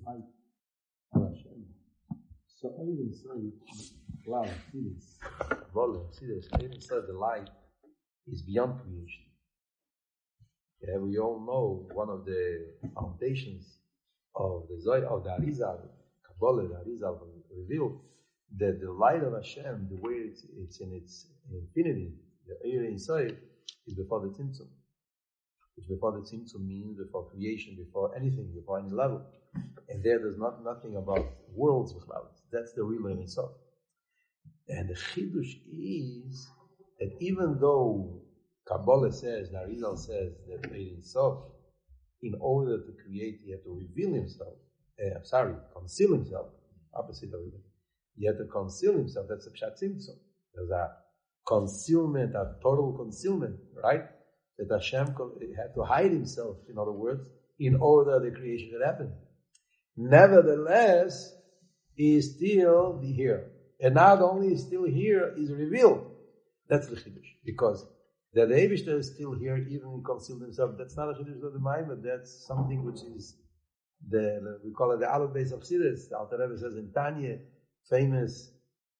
light of Hashem. So even say, wow, see this. Even say the light is beyond creation. Yeah, we all know one of the foundations of the Zohar, of the Arizal, Kabbalah, the Arizal revealed that the light of Hashem, the way it's in its infinity, the Eir inside, is before the Tzimtzum. Which before the Tzimtzum means before creation, before anything, before any level. And there's nothing about worlds with clouds. That's the real Ein Sof. And the Chidush is that even though Kabbalah says, the Arizal says that Ein Sof, in order to create, he had to reveal himself. Conceal himself. Opposite of it. He had to conceal himself. That's a Pshat Tzimtzum. There's a concealment, a total concealment, right? That Hashem had to hide himself, in other words, in order the creation could happen. Nevertheless, he is still here. And not only is still here, is revealed. That's the Chiddush. Because the Eibishter is still here, even he concealed himself. That's not a Chiddush of the mind, but that's something which is, we call it the Aleph Beis of Chassidus. The Alter Rebbe says in Tanya, famous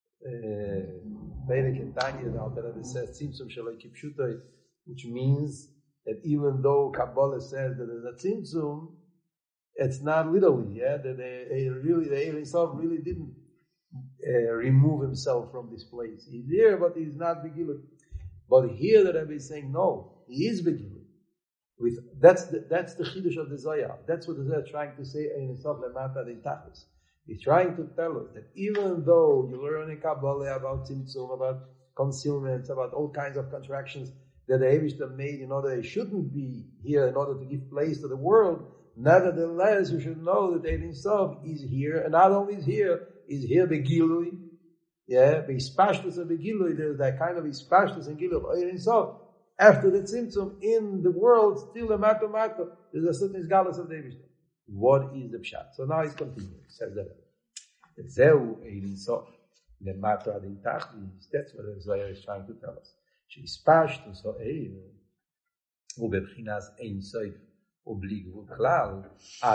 Perek in Tanya, the Alter Rebbe says, Tzimtzum Shaloi Kipshutoi, which means that even though Kabbalah says that there's a Tzimtzum, it's not literally, yeah, that the Eir himself really didn't remove himself from this place. He's here, but he's not Begilut. But here the Rebbe is saying, no, he is Begilut. That's the Chiddush of the Zohar. That's what the Zohar is trying to say in himself, Lemata de Tachlis. He's trying to tell us that even though you learn in Kabbalah about Tzimtzum, about concealment, about all kinds of contractions that the Eibishter made in order they shouldn't be here in order to give place to the world, nevertheless, you should know that Ein Sof is here, and not only is here Begilui, yeah, Beispashtus of Begilui, there's that kind of Beispashtus and Gilui of Ein Sof. After the Tzimtzum in the world, still a mato, there's a certain Isgalus of the Eibishter. What is the Pshat? So now he's continuing. Says that. Zeu Ein Sof. The matter adin tachlis. That's what the Zohar is trying to tell us. Beispashtus of Ein ubebchinas Ein Sof. The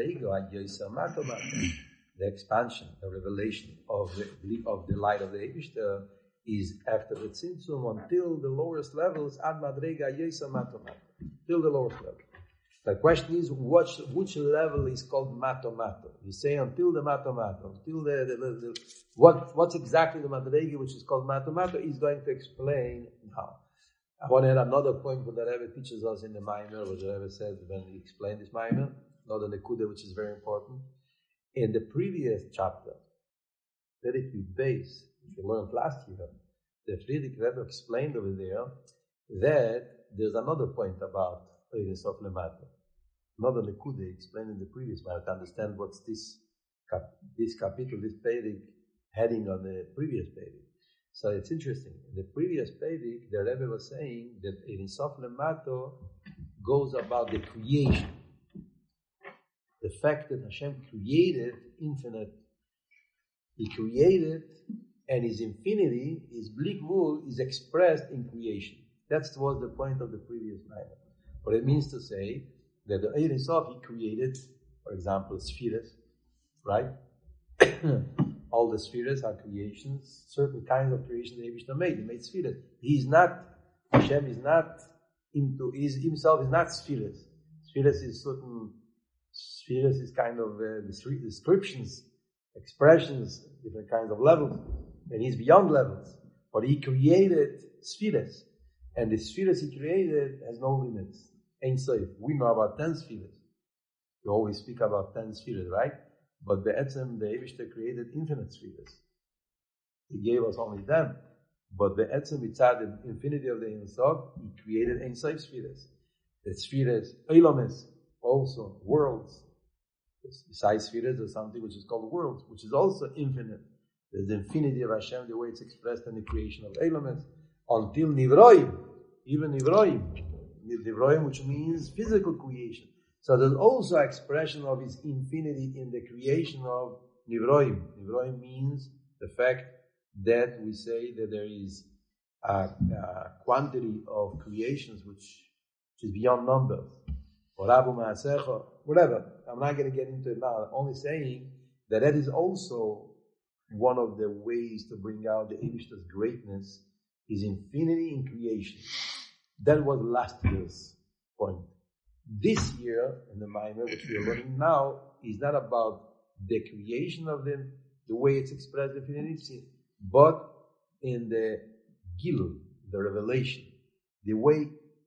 expansion, the revelation of the light of the Eibishter is after the Tzimtzum until the lowest levels, ad madrega yesa matomato, till the lowest level. The question is, which level is called matomato? You say until the matomato, until what's exactly the madrega which is called matomato? He's going to explain now. I want to add another point that the Rebbe teaches us in the Maimer, what the Rebbe said when he explained this Maimer, another Nekuda which is very important. In the previous chapter, Perek Yud Beis, which we learned last year, the Frierdiker Rebbe explained over there that there's another point about Ein Sof Lemata. Another Nekuda explained in the previous Maimer to understand what's this capital, this Perek heading on the previous Perek. So it's interesting. In the previous Perek, the Rebbe was saying that Ein Sof Lemato goes about the creation. The fact that Hashem created infinite. He created, and His infinity, His Blik Gvul, is expressed in creation. That was the point of the previous matter. What it means to say that the Ein Sof, He created, for example, spheres, right? All the spheres are creations, certain kinds of creation the Eibishter made. He made spheres. Hashem is not himself is not spheres. Spheres is kind of descriptions, expressions, different kinds of levels. And he's beyond levels. But he created spheres. And the spheres he created has no limits. Ein Sof. We know about 10 spheres. We always speak about 10 spheres, right? But the Eibishter created infinite spheres. He gave us only them. But the mitzad, the infinity of the Ein Sof, He created Ein Sof spheres. The spheres, Eilomes, also worlds. Besides spheres, there's something which is called worlds, which is also infinite. There's the infinity of Hashem, the way it's expressed in the creation of Eilomes, until Nivroim, even Nivroim, which means physical creation. So there's also expression of His infinity in the creation of Nivroim. Nivroim means the fact that we say that there is a quantity of creations which is beyond numbers. or Abu Ma'asecha, whatever. I'm not going to get into it now. I'm only saying that is also one of the ways to bring out the Eibishter's greatness is infinity in creation. That was last year's point. This year, in the Maimer, which we are learning now, is not about the creation of the way it's expressed in infinity, but in the Gilul, the revelation, the way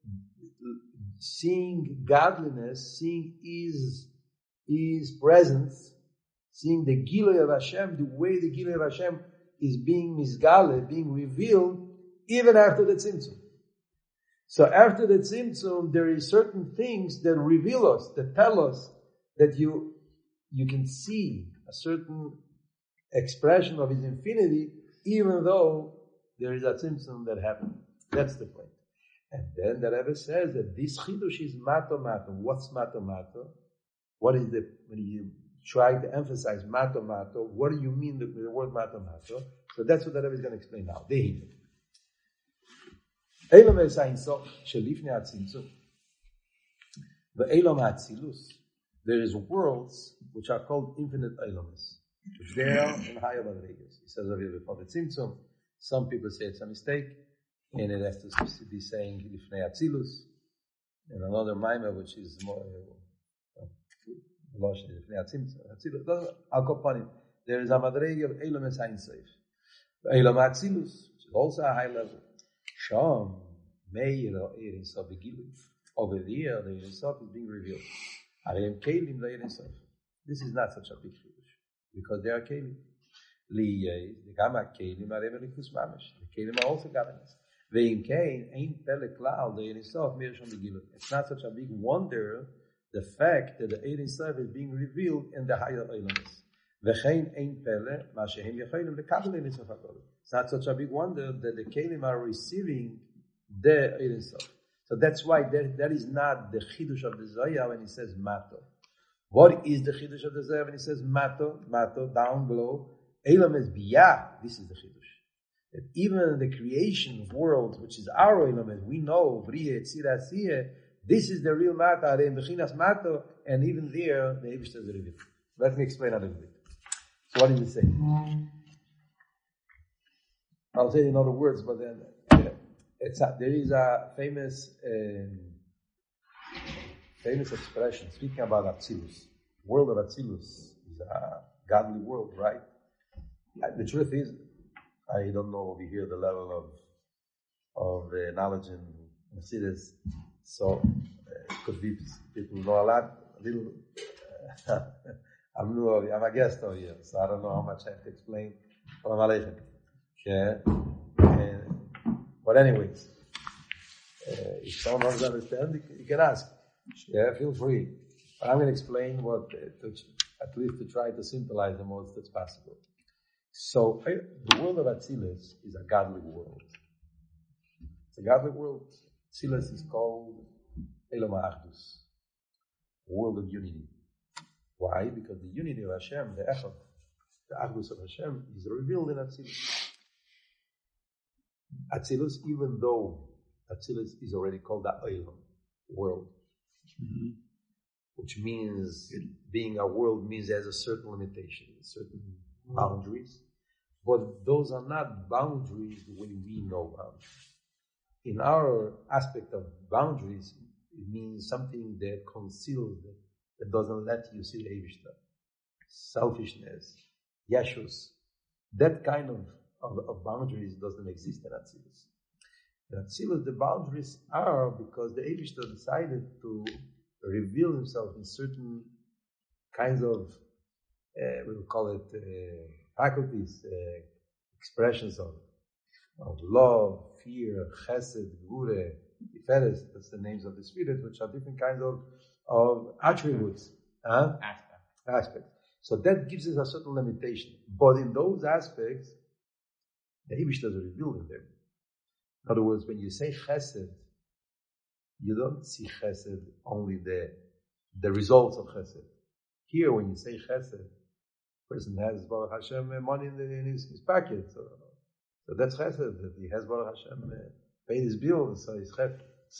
seeing godliness, seeing His presence, seeing the Gilui of Hashem, the way the Gilui of Hashem is being misgale, being revealed, even after the Tzimtzum. So after the Tzimtzum, there is certain things that reveal us, that tell us that you can see a certain expression of His infinity, even though there is a Tzimtzum that happened. That's the point. And then the Rebbe says that this chidush is mato mato. What's mato mato? What is when you try to emphasize mato mato, what do you mean with the word mato mato? So that's what the Rebbe is going to explain now. Eilom es ein sof shelifnei hatzimtzum. Ve'eilom ha'atzilus. There is worlds which are called infinite eilomes. There and higher madrigas. He says over here before the tzimtzum. Some people say it's a mistake, and it has to be saying lifnei hatzilus. And another mimer which is more lifnei hatzilus. Al kopanim. There is a madriga of eilom es ein sof. Ve'eilom ha'atzilus, which is also a high level. Sham meir Ein Sof begilu. Over there, the Ein Sof is being revealed. Arem kelim the Ein Sof. This is not such a big chiddush because they are kelim. Liyei the gamma kelim arem elikus mamash. The kelim are also godliness. Ve'im kein ein pele klal the Ein Sof meir sham begilu. It's not such a big wonder the fact that the Ein Sof is being revealed in the higher elements. Ve'chein ein pele ma shehem yecholim lekabel Ein Sof hakol. It's not such a big wonder that the Kelim are receiving the Ein Sof. So that's why that is not the Chidush of the Zohar when he says Mato. What is the Chidush of the Zohar when he says Mato? Mato, down below. Elam is Biyah. This is the Chidush. That even the creation world, which is our Elam, as we know, Vriye, Tzira, Siyeh, this is the real Mato, Arem Bechinas Mato, and even there, the Eibishter is revealed. Let me explain a little bit. So what does it say? I'll say it in other words, but then there is a famous expression speaking about Atzilus. World of Atzilus is a godly world, right? The truth is, I don't know over here the level of knowledge in Mercedes, so it could be people know a lot, a little. I'm a guest over here, so I don't know how much I have to explain. Yeah. But anyways, if someone doesn't understand, you can ask. Yeah, feel free. But I'm going to explain at least to try to symbolize the most that's possible. So, the world of Atzilus is a godly world. It's a godly world. Atzilus is called Elam Ha'achdus, a world of unity. Why? Because the unity of Hashem, the Echad, the Achdus of Hashem, is revealed in Atzilus. Atzilus, even though Atzilus is already called the Olam, world, which means being a world means it has a certain limitation, certain boundaries, but those are not boundaries the way we know boundaries. In our aspect of boundaries, it means something that conceals, that doesn't let you see the Eibishter. Selfishness, yeshus, that kind of boundaries doesn't exist in Atzilus. In Atzilus, the boundaries are because the Eibishter decided to reveal himself in certain kinds of, we will call it faculties, expressions of love, fear, chesed, gvura, tiferes, that's the names of the spirit, which are different kinds of attributes, aspects. So that gives us a certain limitation. But in those aspects, the Eibishter is revealed in them. In other words, when you say chesed, you don't see chesed only the results of chesed. Here, when you say chesed, a person has Baruch Hashem money in his pocket. So that's chesed, that he has Baruch Hashem paid his bills, so he's chesed. So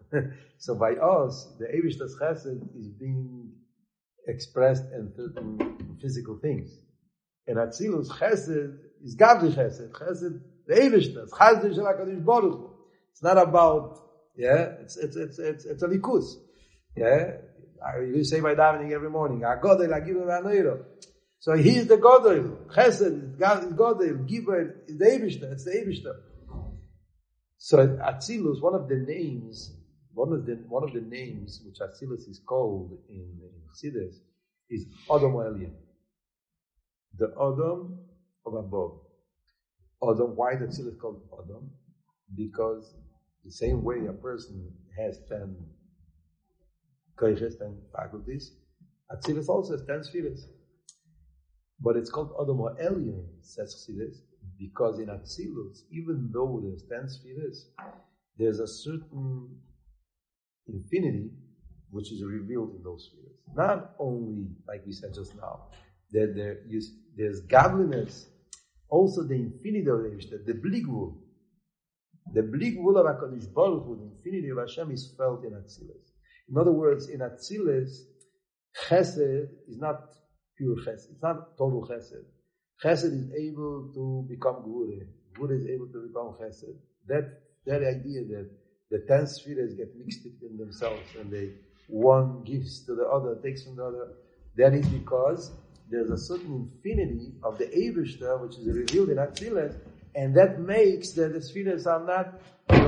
So by us, the Eibishter's chesed is being expressed in certain physical things. And Atzilus chesed is Gavli chesed. Chesed, the Eibishter's chesed shel HaKadosh Baruch Hu. It's not about, it's a likus. You say by davening every morning, HaGodel, HaGibel, HaNoiro. So he's the Godel. Chesed is Godel. Gibel is the Eibishter. It's the Eibishter. So Atzilus, one of the names which Atzilus is called in Chassidus is Adam Elyon. The Adam of above. Adam, why the Atzilus called Adam? Because the same way a person has 10 koiches, 10 faculties, Atzilus also has 10 spheres. But it's called Adam Elyon, says Chassidus, because in Atzilus, even though there's 10 spheres, there's a certain infinity which is revealed in those spheres. Not only, like we said just now, that there's godliness, also the infinity of the Bligvul. The Bligvul of HaKadosh Baruch Hu, the infinity of Hashem, is felt in Atzilus. In other words, in Atzilus, Chesed is not pure Chesed. It's not total Chesed. Chesed is able to become Gvura. Gvura is able to become Chesed. That idea that the 10 spheres get mixed in themselves and one gives to the other, takes from the other, that is because there's a certain infinity of the Eibishter which is revealed in Atzilus, and that makes that the spheres are not,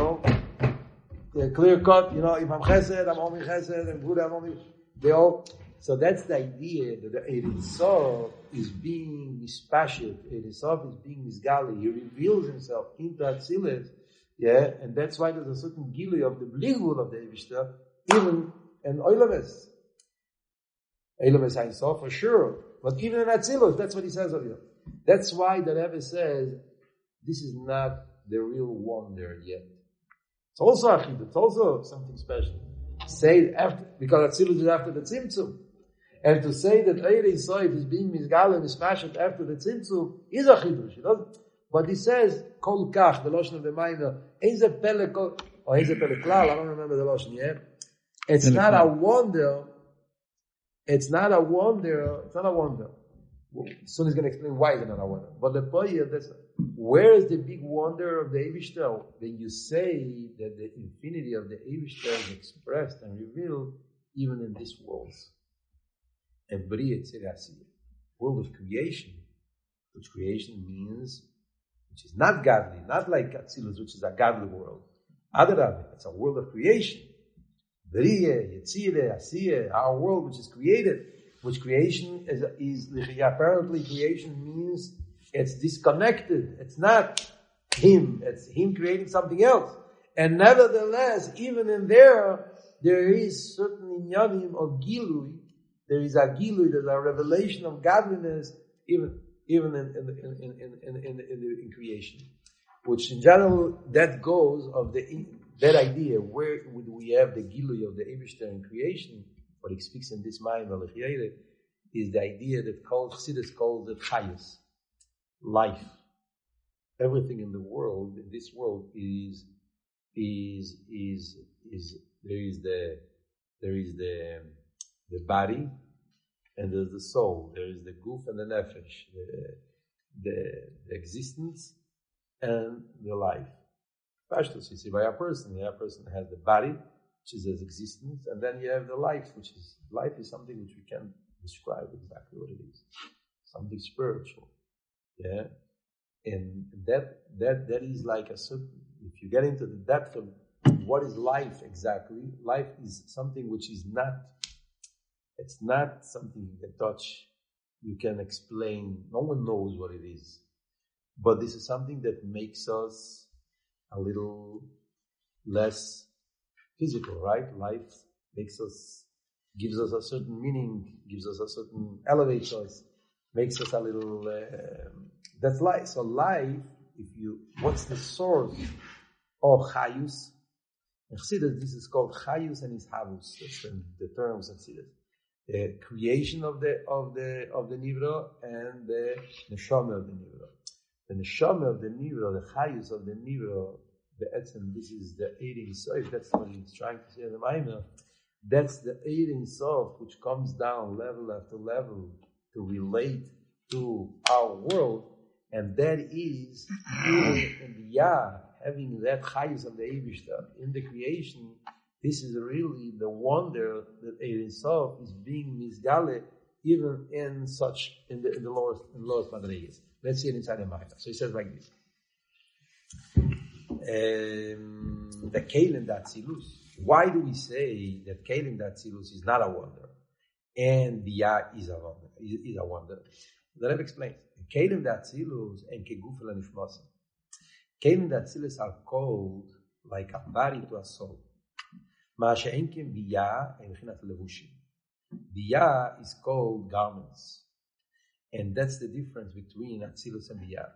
clear cut, if I'm Chesed, I'm only Chesed, and Gvura, I'm only, so that's the idea that the Ein Sof is being mispashet, Ein Sof is being misgali, he reveals himself into Atzilus, and that's why there's a certain gilui of the Bligvul of the Eibishter, even in Oilames. Oilames Ein Sof for sure, but even in Atzilus, that's what he says of you. That's why the Rebbe says, this is not the real wonder yet. It's also Achid, it's also something special. Say it after, because Atzilus is after the Tzimtzum. And to say that Ein Sof is being misgalem, mispashet after the Tzimtzum is a chidush. But he says, Kol Kach, the Lashon of the Maimer, Ein Ze Pele Kol, or Ein Ze Pele Klal, I don't remember the Lashon yet. It's not a wonder. It's not a wonder. Soon he's going to explain why it's not a wonder. But the point is, where is the big wonder of the Eibishter? When you say that the infinity of the Eibishter is expressed and revealed even in this world. And Bria Tzirasiyah, world of creation, which creation means, which is not godly, not like Atzilus, which is a godly world. Adarabah, it's a world of creation. Bria, Yetzirah, Asiyah, our world which is created, which creation is apparently creation means it's disconnected. It's not him. It's him creating something else. And nevertheless, even in there is certain inyanim of gilui. There is a gilui, there's a revelation of godliness, even in creation. Which in general, that goes of that idea, where would we have the gilui of the Eibishter in creation? What he speaks in this mind, is the idea that Chassidus calls it chayus, life. Everything in the world, in this world, is there is the body, and there's the soul. There is the guf and the nefesh, the existence and the life. Pashtus, you see, by a person has the body, which is his existence, and then you have the life, life is something which we can't describe exactly what it is. Something spiritual. Yeah? And that is like a certain, if you get into the depth of what is life exactly, life is something which is not, it's not something you can touch, you can explain, no one knows what it is. But this is something that makes us a little less physical, right? Life makes us, gives us a certain meaning, elevates us, makes us a little, that's life. So life, what's the source of chayus? In Chassidus, this is called chayus and ishavus. That's the terms of Chassidus. The creation of the nivra and the neshama of the nivra. The neshama of the nivra, the chayus of the nivra, this is the Ein Sof. That's what he's trying to say in the Maimer. That's the Ein Sof, which comes down level after level to relate to our world, and that is in the Yah, having that Chayus of the Eibishter in the creation. This is really the wonder that Ein Sof is being misgale even in the lowest madrigas. Let's see it inside the Maimer. So he says like this. The Kelim Datzilus. Why do we say that Kelim Datzilus is not a wonder and the Yah is a wonder? The Rebbe explains. Kelim Datzilus and Kegufel and Nishmosim. Kelim Datzilus are called like a body to a soul. Ma'ashe'enkim Biyah and Mechinat Levushim. Biyah is called garments, and that's the difference between Atzilus and Biyah.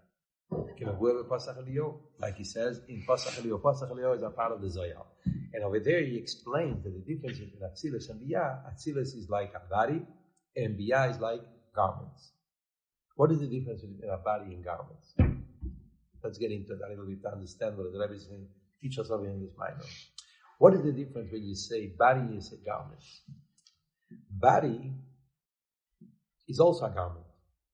Like he says in Pasach Elio is a part of the Zohar. And over there he explains that the difference between Atzilus and Biyah, Atzilus is like a body and Biyah is like garments. What is the difference between a body and garments? Let's get into that a little bit to understand what the Rebbe is going to teach us over in this minor. What is the difference when you say body is a garment? Body is also a garment,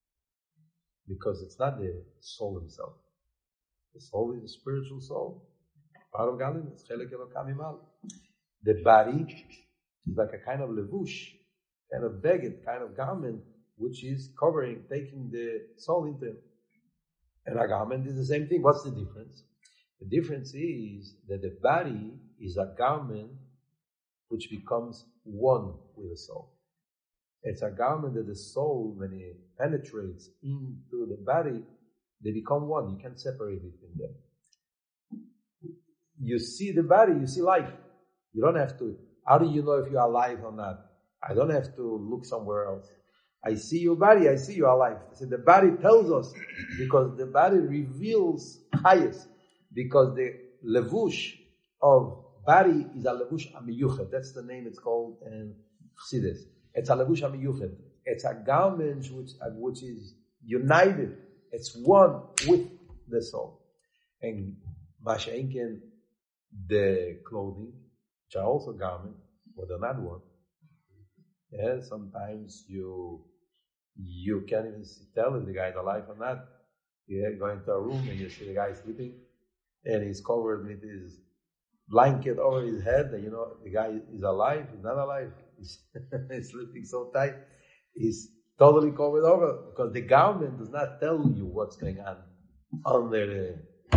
because it's not the soul himself. The soul is the spiritual soul. Part of Galim, it's Chelek Elokam Imal. The body is like a kind of levush, kind of beged, kind of garment, which is covering, taking the soul into it. And a garment is the same thing. What's the difference? The difference is that the body is a garment which becomes one with the soul. It's a garment that the soul, when it penetrates into the body, they become one. You can't separate between them. You see the body, you see life. You don't have to. How do you know if you are alive or not? I don't have to look somewhere else. I see your body, I see you are alive. I said the body tells us, because the body reveals highest. Because the levush of body is a levush amiyuchet. That's the name it's called in Chassidus. It's a levush amiyuchet. It's a garment which is united. It's one with the soul. And masha'inken, the clothing, which are also garments, but they're not one. Yeah, sometimes you can't even tell if the guy is alive or not. You go into a room and you see the guy sleeping, and he's covered with his blanket over his head, and you know the guy is alive, he's not alive. He's sleeping so tight, he's totally covered over, because the garment does not tell you what's going on under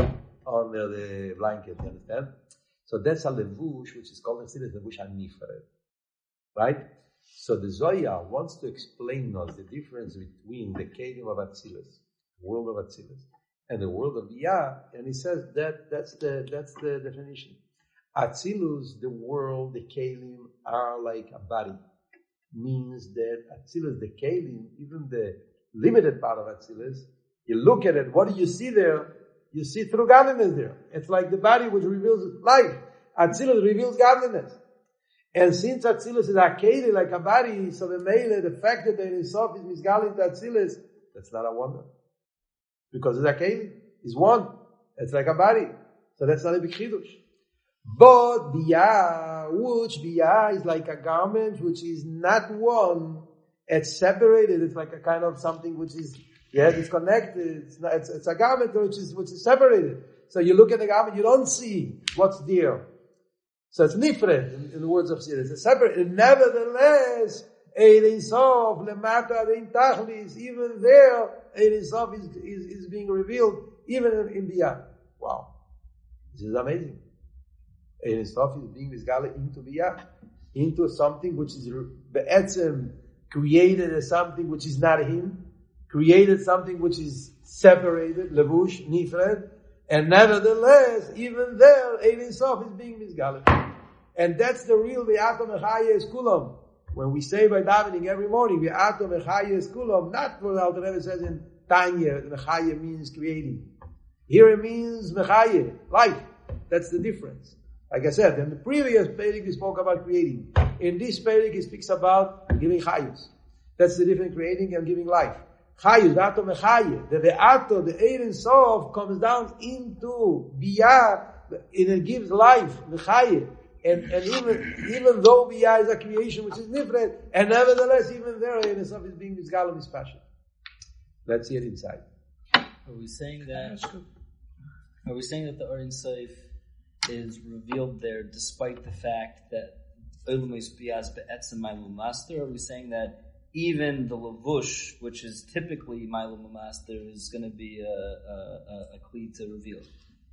the blanket, you understand? So that's a levush, which is called in levush hanifred, right? So the Zohar wants to explain us the difference between the Kelim of Atzilus, world of Atzilus, and the world of Biyah, and he says that's the definition. Atzilus, the world, the Kelim are like a body. Means that Atzilus, the Kelim, even the limited part of Atzilus, you look at it, what do you see there? You see through godliness there. It's like the body which reveals life. Atzilus reveals godliness. And since Atzilus is a Kelim, like a body, so the fact that the Ein Sof is misgaling to Atzilus, that's not a wonder. Because it's a Kelim, it's one. It's like a body. So that's not a big chidush. But Biyah is like a garment which is not one. It's separated. It's like a kind of something which is, it's connected. It's a garment which is separated. So you look at the garment, you don't see what's there. So it's nifred in the words of Chassidus. It's separate. And nevertheless, Ein Sof lemata adein tachlis, even there, Ein Sof is being revealed, even in Biyah. Wow. This is amazing. Ein Sof is being misgale into Biyah, into something which is be'etzem, created as something which is not him, created something which is separated, levush, nifred, and nevertheless, even there, Ein Sof is being misgale. And that's the real Ve'ato Mechaya es Kulam. When we say by davening every morning, Ve'ato Mechaya es Kulam, not what the Alter Rebbe says in Tanya, Mechaya means creating. Here it means Mechaya, life. That's the difference. Like I said, in the previous Perek we spoke about creating. In this Perek he speaks about giving Chayus. That's the difference, creating and giving life. Chayus, Ve'ato Mechaya. The Ve'ato, the Ein Sof, comes down into Biyah, it gives life, l'chayim. And even though Biyah is a creation which is different, and nevertheless, even there, Ein Sof is being Misgal of Mispashim. Let's see it inside. Are we saying that the Ein Sof is revealed there despite the fact that Olam Biyah is be'etzem Ma'ilum Master? Are we saying that even the Lavush, which is typically Ma'ilum Master, is going to be a kli to reveal?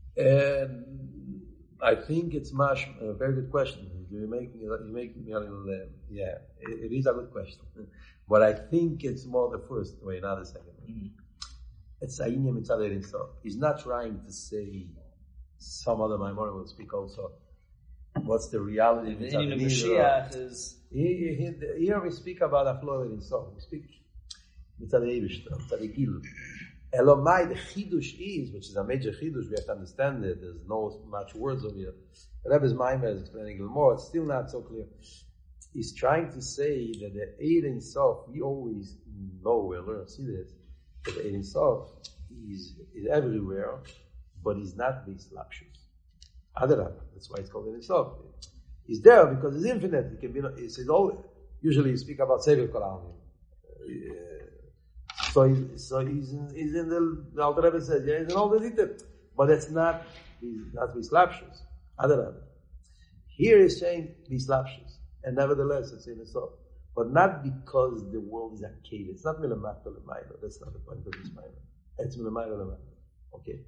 I think it's much a very good question. You're making me a little it is a good question, but I think it's more the first way, not the second way. Mm-hmm. It's Ayinya Mitzad Ein Sof. He's not trying to say some other Maimonides will speak also. What's the reality of Mitzad Mashiach is here we speak about a flow Ein Sof. We speak Mitzad Eibishter, Mitzad Ekil. Elomai, the chidush is, which is a major chidush, we have to understand it. There's no much words over here. Rebbe's Maimer is explaining a little more. It's still not so clear. He's trying to say that the Eid Ein Sof, we always know, we learn, see this, that the Eid Ein Sof is everywhere, but he's not these lapshus. Adarab, that's why it's called Eid Ein Sof. He's there because it's infinite. It can be. It's always. Usually, you speak about Sefer Kol Ha'almin. So he's in the Alter Rebbe says, he's in all the details. But he's not Bislapshus. Adarab. Here he's saying Bislapshus. And nevertheless, it's in itself. But not because the world is a cave. It's not Milamata Lemaila. That's not the point of this Maila. It's Milamaila Lemaila. Okay.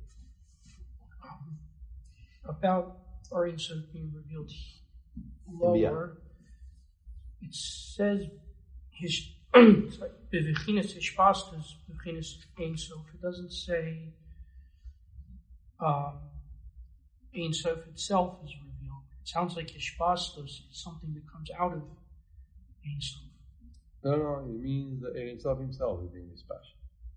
About Ein Sof being revealed lower, it says his it's like Bevichinas Hishpastus, Bevichinas Ein Sof. It doesn't say Ein Sof itself is revealed. It sounds like Hishpastus is something that comes out of Ein Sof. No, it means the Ein Sof himself is being dispashed.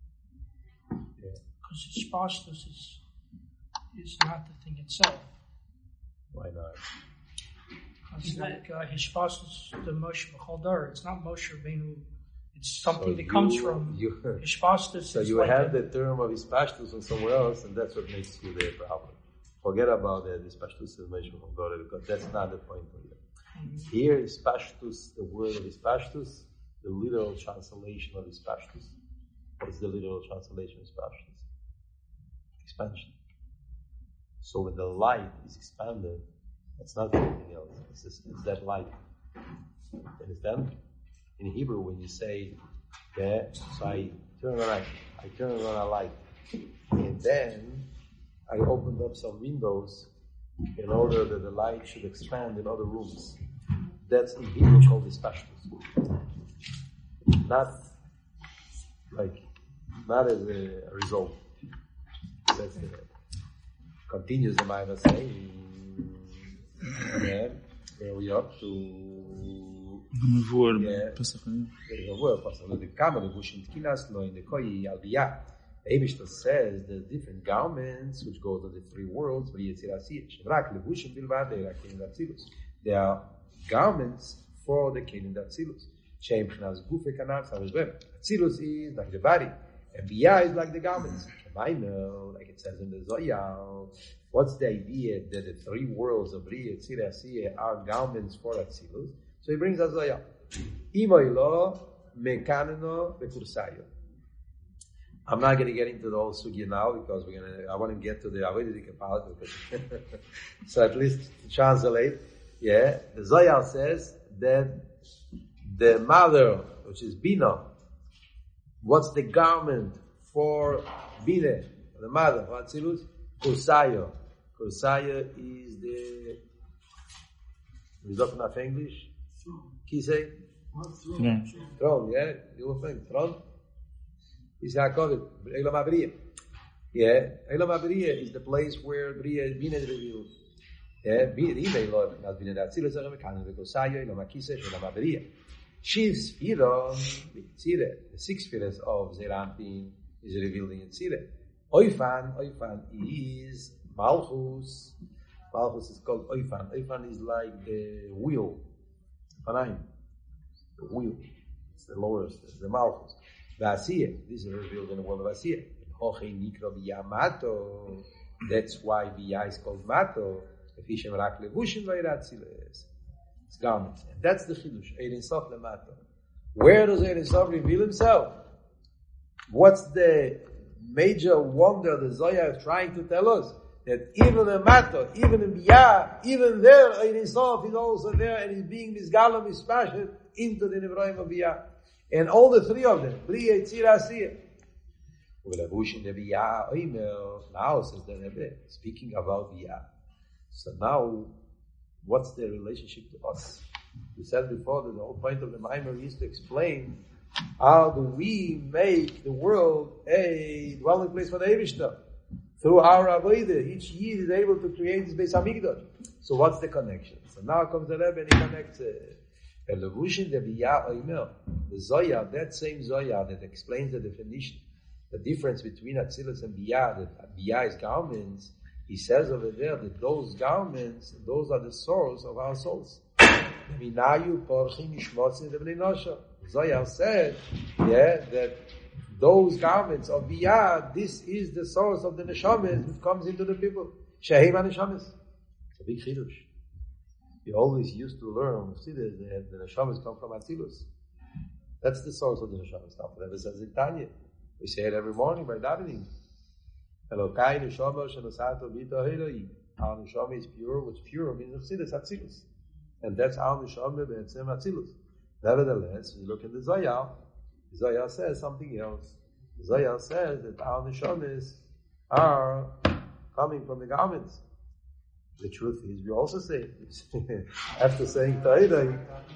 Because Hishpastus is not the thing itself. Why not? It's like Hishpastus, the Moshe B'chol. It's not Moshe Rabbeinu. It's something that comes from Hishpastus. So you have the term of Hishpastus from somewhere else, and that's what makes you the problem. Forget about the Hishpastus of Moshe B'chol, because that's not the point of it. Mm-hmm. Here, Hishpastus, the word of Hishpastus, the literal translation of Hishpastus. What is the literal translation of Hishpastus? Expansion. So when the light is expanded, it's not anything else. It's that light. You understand? In Hebrew, when you say, so I turn on a light, and then I opened up some windows in order that the light should expand in other rooms. That's in Hebrew called Hishpastus. Not as a result. That's the continues the Maimon saying. Where we up to the Kamal Bushin Tkinas Lo in the Koi Albiyah. The Eibishter says the different garments which go to the three worlds. They are garments for the Kelim Datzilus. Shem Chnas Gufe Kanav Savizbem. Datzilus is like the body, and Biyah is like the garments. Like it says in the Zoyal. What's the idea that the three worlds of Bria, Tzira, Asiyah are garments for Atzilus? So he brings us Zoyal. Imoilo, Mekanino, Bekursayo. I'm not going to get into the whole sugya now because I want to get to the Avedic part. So at least to translate, the Zoyal says that the mother, which is Bina, what's the garment for Bina, the mother, for Atzilus? Kursayo. Kursayo is the... Is that enough English? Can you say? Throne, yeah? You will think, throne? Is Yaakov, Elam HaBriya. Yeah, Elam HaBriya is the place where Bria is Bina is revealed. Yeah, Bina Lord has been in that Tzilus HaRemekanim, Kursayo, Elam HaKiseh, Elam HaBriya. She's Spiron, the 6 spheres of Zerampin is revealed in Tzireh. Oifan is Malchus. Malchus is called Oifan. Oifan is like the wheel. Fanaim. The wheel. It's the lowest. It's the Malchus. Vasiyah. This is revealed in the world of Vasiyah. Hoche Nikro Yamato. That's why Biyah is called Mato. It's garments. And that's the Chidush. Ein Sof Lemato. Where does Ein Sof reveal himself? What's the major wonder the Zohar is trying to tell us? That even in Mato, even in Biyah, even there, Ein Sof is also there and is being misgalom, mispashed into the Nivroim of Biyah. And all the three of them, Bri, Yitzir, Asiyah. Now, says the Rebbe, speaking about Biyah. So now, what's their relationship to us? We said before that the whole point of the Maimer is to explain how do we make the world a dwelling place for the Eivishter. Through our Avodah, each Yid is able to create this Beis Hamikdash. So what's the connection? So now comes the Rebbe and he connects the Zohar, that same Zohar that explains the definition, the difference between Atzilus and Biyah, that Biyah is garments. He says over there that those garments, those are the source of our souls. Zohar said, that those garments of Biyah, this is the source of the neshamas which comes into the people. Shehem neshamas. It's a big chidush. We always used to learn on Chassidus that the neshamas come from Atzilus. That's the source of the neshamas. Now, whatever says in Tanya, we say it every morning by davening. Elokai neshama shenosato bito heloi. Our neshama is pure, which pure means Chassidus, Atzilus. And that's our neshama be'etzem Atzilus. Nevertheless, when you look in the Zohar says something else. The Zohar says that our neshamas are coming from the garments. The truth is, we also say, after saying Ta'idai,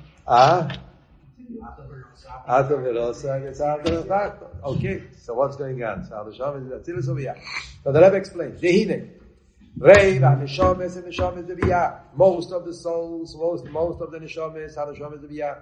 okay, so what's going on? So the neshamas is Atzilus or Biyah. So the Rebbe explains, Dehine, Reiv, neshamas and neshamas the Biyah. Most of the souls, most of the neshamas are neshamas the Biyah.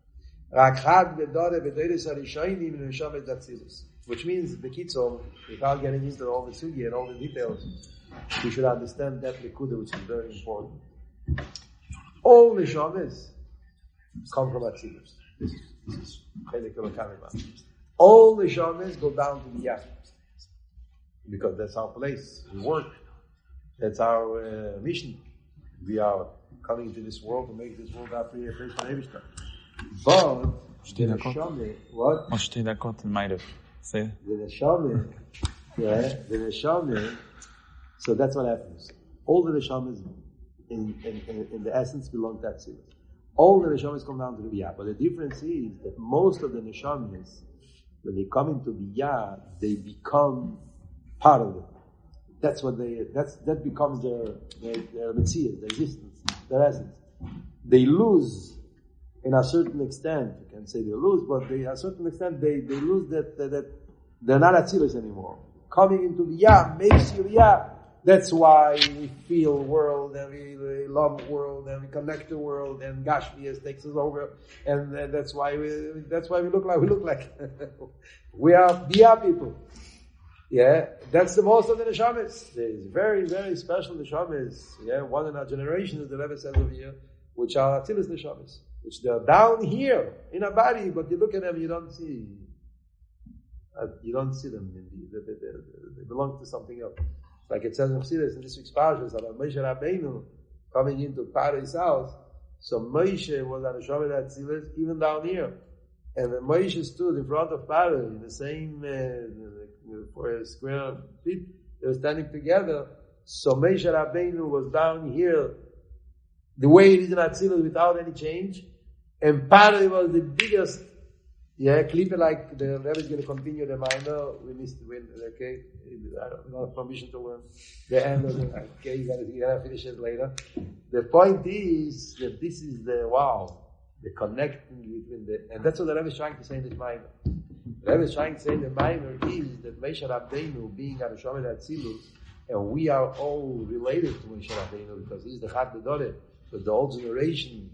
Which means, Bekitzom, without getting into all the sugi and all the details, we should understand that Likuda, which is very important. All the neshamas come from Atzilus. This is all the neshamas go down to Biyah. Because that's our place. We work. That's our mission. We are coming into this world to make this world our place for Eivishter. But the neshama, what? On steht d'accord in my say. The neshama. So that's what happens. All the neshamas in the essence belong to Atzilus. All the neshamas come down to the Biyah. But the difference is that most of the neshamas, when they come into Biyah, they become part of it. That's what that becomes their metzias, their existence, their essence. They lose. In a certain extent, you can say they lose, but a certain extent they lose that they're not Atzilus anymore. Coming into Biyah makes you Biyah. That's why we feel world and we love world and we connect the world and Gashmias takes us over, and that's why we look like we look like. We are Biyah people. Yeah, that's the most of the neshamas. There's very, very special neshamas. Yeah, one in our generation, as the Rebbe says over here, which are Atzilus neshamas. Which they are down here in a body, but you look at them, you don't see them. They belong to something else. Like it says in Chassidus in this week's parashas about Moshe Rabbeinu coming into Paro's house. So Moshe was on a Shomer Atzilus even down here, and when Moshe stood in front of Paro in the same for a square feet, they were standing together. So Moshe Rabbeinu was down here, the way it is in Atzilus without any change. And Paro was the biggest, Klippe, like the Rebbe is going to continue the minor. We missed the win, okay? I don't have permission to learn the end of it. Okay, you gotta finish it later. The point is that this is the connecting between and that's what the Rebbe is trying to say in this minor. The Rebbe is trying to say in the minor is that Moshe Rabbeinu being a Shomer Atzilus, and we are all related to Moshe Rabbeinu because he's the Chad Gedoleh, but the old generation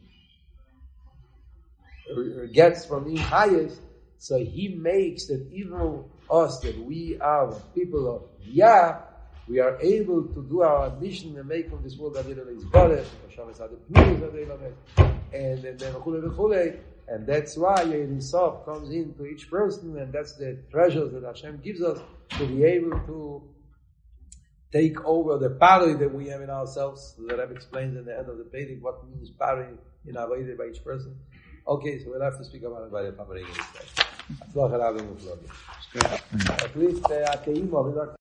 gets from him highest, so he makes that even us, that we are people of Biyah, we are able to do our mission and make from this world and that's why Ein Sof comes into each person, and that's the treasures that Hashem gives us to be able to take over the party that we have in ourselves. The Rebbe explains in the end of the Pedic what means party in Avodah by each person. Okay, so we'll have to speak about it by the Pamaring. At least,